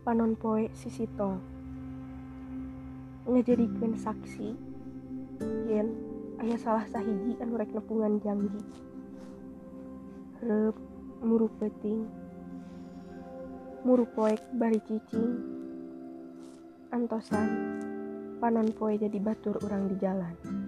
panon poe sisito ngajadikeun saksi yen aya salah sahiji anu rek nepungan janji. Reup muru peuting, muru poek bari cicing, antosan panon poe jadi batur urang di jalan.